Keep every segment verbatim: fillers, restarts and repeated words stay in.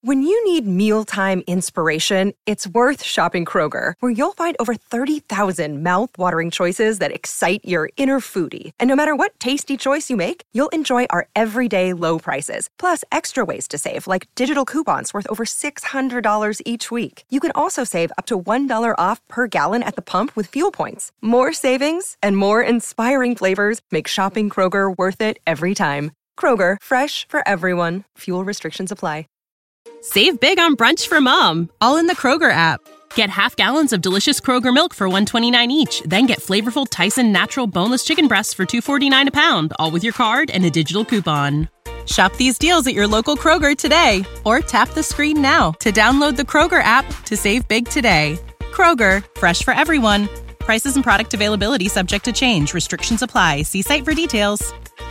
When you need mealtime inspiration, it's worth shopping Kroger, where you'll find over thirty thousand mouth-watering choices that excite your inner foodie. And no matter what tasty choice you make, you'll enjoy our everyday low prices, plus extra ways to save, like digital coupons worth over six hundred dollars each week. You can also save up to one dollar off per gallon at the pump with fuel points. More savings and more inspiring flavors make shopping Kroger worth it every time. Kroger, fresh for everyone. Fuel restrictions apply. Save big on brunch for mom, all in the Kroger app. Get half gallons of delicious Kroger milk for one dollar and twenty-nine cents each. Then get flavorful Tyson natural boneless chicken breasts for two dollars and forty-nine cents a pound, all with your card and a digital coupon. Shop these deals at your local Kroger today, or tap the screen now to download the Kroger app to save big today. Kroger, fresh for everyone. Prices and product availability subject to change. Restrictions apply. See site for details.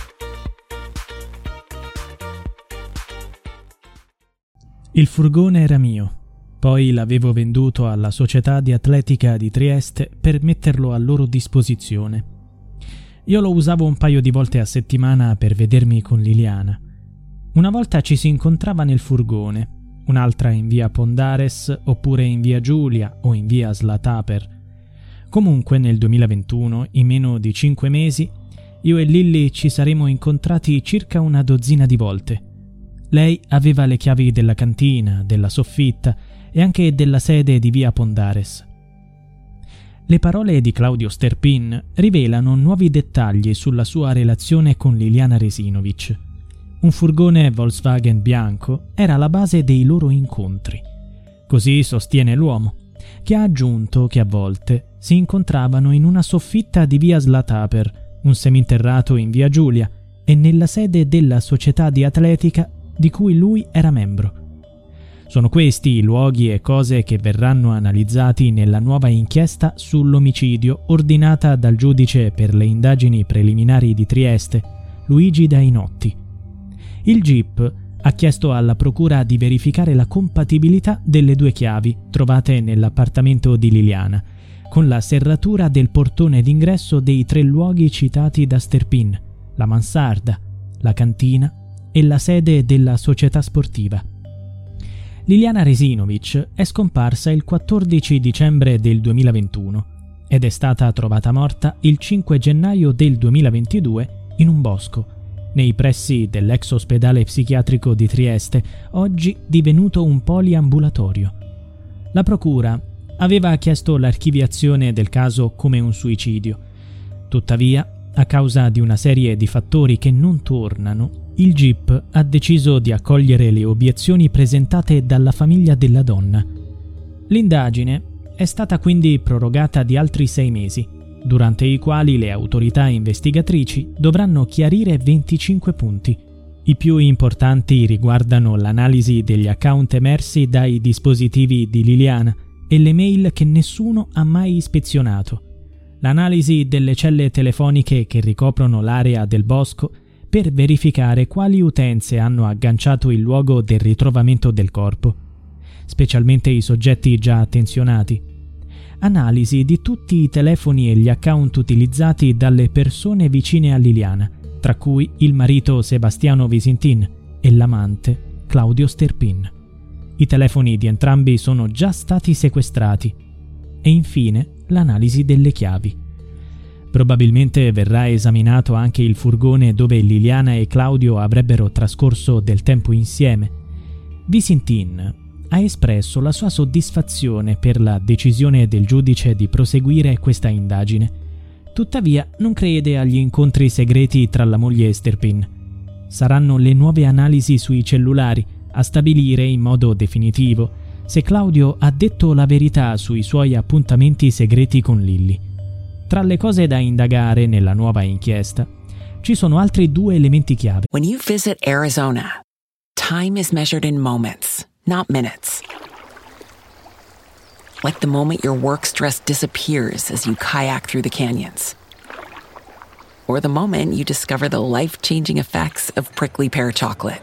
Il furgone era mio, poi l'avevo venduto alla Società di Atletica di Trieste per metterlo a loro disposizione. Io lo usavo un paio di volte a settimana per vedermi con Liliana. Una volta ci si incontrava nel furgone, un'altra in via Pondares oppure in via Giulia o in via Slataper. Comunque nel duemilaventuno, in meno di cinque mesi, io e Lilly ci saremo incontrati circa una dozzina di volte. Lei aveva le chiavi della cantina, della soffitta e anche della sede di via Pondares. Le parole di Claudio Sterpin rivelano nuovi dettagli sulla sua relazione con Liliana Resinovic. Un furgone Volkswagen bianco era la base dei loro incontri. Così sostiene l'uomo, che ha aggiunto che a volte si incontravano in una soffitta di via Slataper, un seminterrato in via Giulia e nella sede della società di atletica di cui lui era membro. Sono questi i luoghi e cose che verranno analizzati nella nuova inchiesta sull'omicidio ordinata dal giudice per le indagini preliminari di Trieste, Luigi Dainotti. Il G I P ha chiesto alla procura di verificare la compatibilità delle due chiavi trovate nell'appartamento di Liliana, con la serratura del portone d'ingresso dei tre luoghi citati da Sterpin, la mansarda, la cantina e la sede della società sportiva. Liliana Resinovic è scomparsa il quattordici dicembre del duemilaventuno ed è stata trovata morta il cinque gennaio del duemilaventidue in un bosco, nei pressi dell'ex ospedale psichiatrico di Trieste, oggi divenuto un poliambulatorio. La procura aveva chiesto l'archiviazione del caso come un suicidio. Tuttavia, a causa di una serie di fattori che non tornano, il G I P ha deciso di accogliere le obiezioni presentate dalla famiglia della donna. L'indagine è stata quindi prorogata di altri sei mesi, durante i quali le autorità investigatrici dovranno chiarire venticinque punti. I più importanti riguardano l'analisi degli account emersi dai dispositivi di Liliana e le mail che nessuno ha mai ispezionato, l'analisi delle celle telefoniche che ricoprono l'area del bosco per verificare quali utenze hanno agganciato il luogo del ritrovamento del corpo, specialmente i soggetti già attenzionati, analisi di tutti i telefoni e gli account utilizzati dalle persone vicine a Liliana, tra cui il marito Sebastiano Visintin e l'amante Claudio Sterpin. I telefoni di entrambi sono già stati sequestrati. E infine l'analisi delle chiavi. Probabilmente verrà esaminato anche il furgone dove Liliana e Claudio avrebbero trascorso del tempo insieme. Visintin ha espresso la sua soddisfazione per la decisione del giudice di proseguire questa indagine. Tuttavia non crede agli incontri segreti tra la moglie e Sterpin. Saranno le nuove analisi sui cellulari a stabilire in modo definitivo se Claudio ha detto la verità sui suoi appuntamenti segreti con Lilly. Tra le cose da indagare nella nuova inchiesta ci sono altri due elementi chiave. When you visit Arizona, time is measured in moments, not minutes. Like the moment your work stress disappears as you kayak through the canyons. Or the moment you discover the life-changing effects of prickly pear chocolate.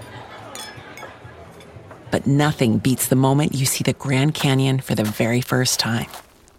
But nothing beats the moment you see the Grand Canyon for the very first time.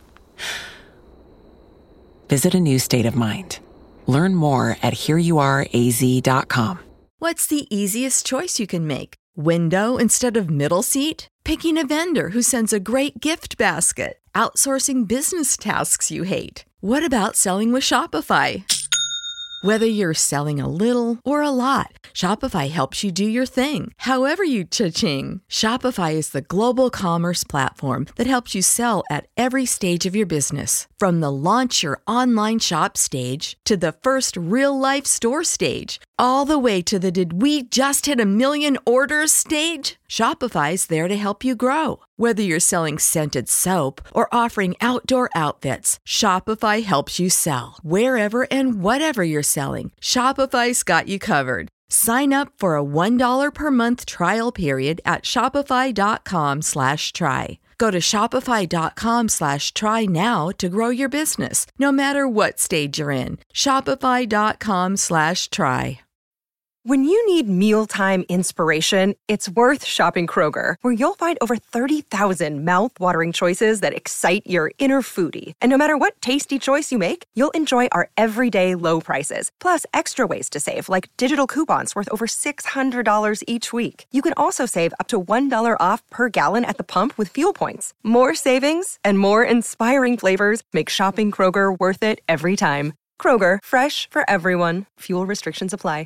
Visit a new state of mind. Learn more at here you are a z dot com. What's the easiest choice you can make? Window instead of middle seat? Picking a vendor who sends a great gift basket? Outsourcing business tasks you hate? What about selling with Shopify? Whether you're selling a little or a lot, Shopify helps you do your thing, however you cha-ching. Shopify is the global commerce platform that helps you sell at every stage of your business. From the launch your online shop stage to the first real-life store stage, all the way to the did we just hit a million orders stage. Shopify's there to help you grow. Whether you're selling scented soap or offering outdoor outfits, Shopify helps you sell. Wherever and whatever you're selling, Shopify's got you covered. Sign up for a one dollar per month trial period at shopify.com slash try. Go to shopify.com slash try now to grow your business, no matter what stage you're in. Shopify.com slash try. When you need mealtime inspiration, it's worth shopping Kroger, where you'll find over thirty thousand mouth-watering choices that excite your inner foodie. And no matter what tasty choice you make, you'll enjoy our everyday low prices, plus extra ways to save, like digital coupons worth over six hundred dollars each week. You can also save up to one dollar off per gallon at the pump with fuel points. More savings and more inspiring flavors make shopping Kroger worth it every time. Kroger, fresh for everyone. Fuel restrictions apply.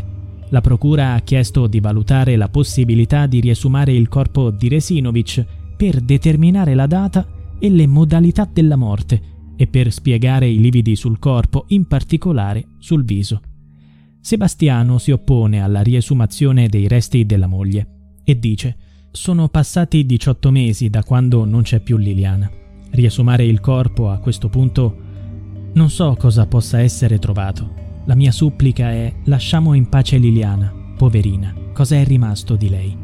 La procura ha chiesto di valutare la possibilità di riesumare il corpo di Resinovic per determinare la data e le modalità della morte e per spiegare i lividi sul corpo, in particolare sul viso. Sebastiano si oppone alla riesumazione dei resti della moglie e dice: «Sono passati diciotto mesi da quando non c'è più Liliana. Riesumare il corpo a questo punto non so cosa possa essere trovato. La mia supplica è: lasciamo in pace Liliana, poverina, cosa è rimasto di lei?»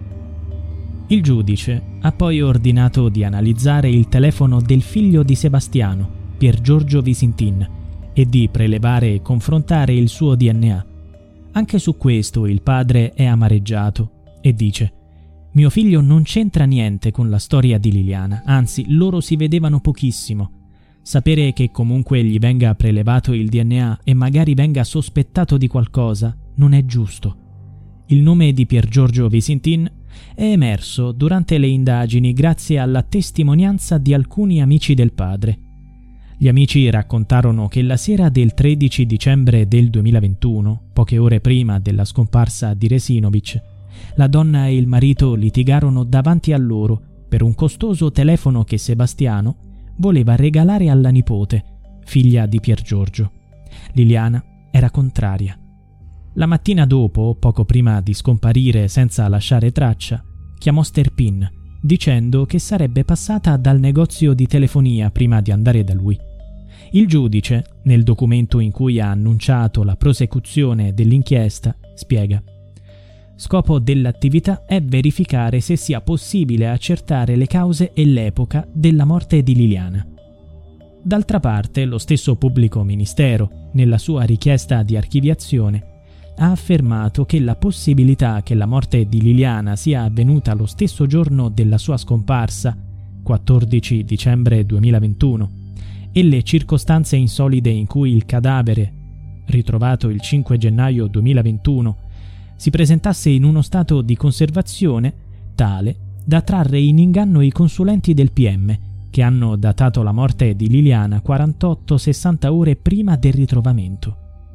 Il giudice ha poi ordinato di analizzare il telefono del figlio di Sebastiano, Pier Giorgio Visintin, e di prelevare e confrontare il suo D N A. Anche su questo il padre è amareggiato e dice: «Mio figlio non c'entra niente con la storia di Liliana, anzi loro si vedevano pochissimo. Sapere che comunque gli venga prelevato il D N A e magari venga sospettato di qualcosa non è giusto». Il nome di Pier Giorgio Visintin è emerso durante le indagini grazie alla testimonianza di alcuni amici del padre. Gli amici raccontarono che la sera del tredici dicembre del duemilaventuno, poche ore prima della scomparsa di Resinovic, la donna e il marito litigarono davanti a loro per un costoso telefono che Sebastiano voleva regalare alla nipote, figlia di Pier Giorgio. Liliana era contraria. La mattina dopo, poco prima di scomparire senza lasciare traccia, chiamò Sterpin, dicendo che sarebbe passata dal negozio di telefonia prima di andare da lui. Il giudice, nel documento in cui ha annunciato la prosecuzione dell'inchiesta, spiega: «Scopo dell'attività è verificare se sia possibile accertare le cause e l'epoca della morte di Liliana». D'altra parte, lo stesso pubblico ministero, nella sua richiesta di archiviazione, ha affermato che la possibilità che la morte di Liliana sia avvenuta lo stesso giorno della sua scomparsa, quattordici dicembre duemilaventuno, e le circostanze insolite in cui il cadavere, ritrovato il cinque gennaio duemilaventuno, si presentasse in uno stato di conservazione tale da trarre in inganno i consulenti del P M, che hanno datato la morte di Liliana quarantotto sessanta ore prima del ritrovamento.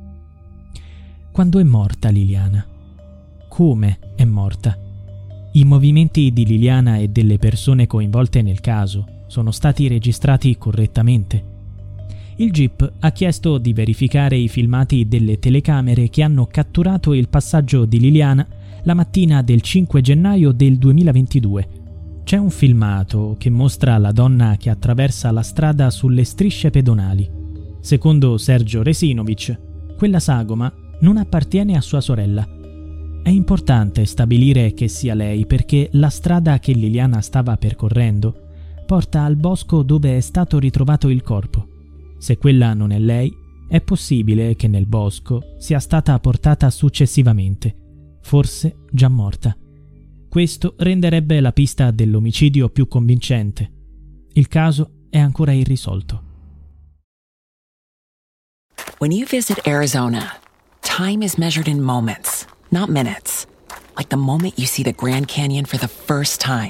Quando è morta Liliana? Come è morta? I movimenti di Liliana e delle persone coinvolte nel caso sono stati registrati correttamente. Il G I P ha chiesto di verificare i filmati delle telecamere che hanno catturato il passaggio di Liliana la mattina del cinque gennaio del duemilaventidue. C'è un filmato che mostra la donna che attraversa la strada sulle strisce pedonali. Secondo Sergio Resinovic, quella sagoma non appartiene a sua sorella. È importante stabilire che sia lei perché la strada che Liliana stava percorrendo porta al bosco dove è stato ritrovato il corpo. Se quella non è lei, è possibile che nel bosco sia stata portata successivamente, forse già morta. Questo renderebbe la pista dell'omicidio più convincente. Il caso è ancora irrisolto. When you visit Arizona, time is measured in moments, not minutes. Like the moment you see the Grand Canyon for the first time.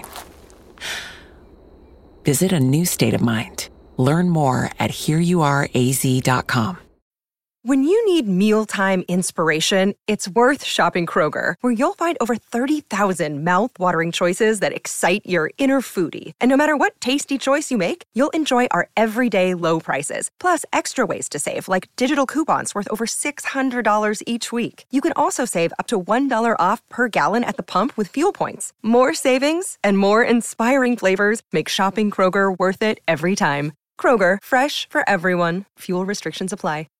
Visit a new state of mind. Learn more at here you are a z dot com. When you need mealtime inspiration, it's worth shopping Kroger, where you'll find over thirty thousand mouth-watering choices that excite your inner foodie. And no matter what tasty choice you make, you'll enjoy our everyday low prices, plus extra ways to save, like digital coupons worth over six hundred dollars each week. You can also save up to one dollar off per gallon at the pump with fuel points. More savings and more inspiring flavors make shopping Kroger worth it every time. Kroger, fresh for everyone. Fuel restrictions apply.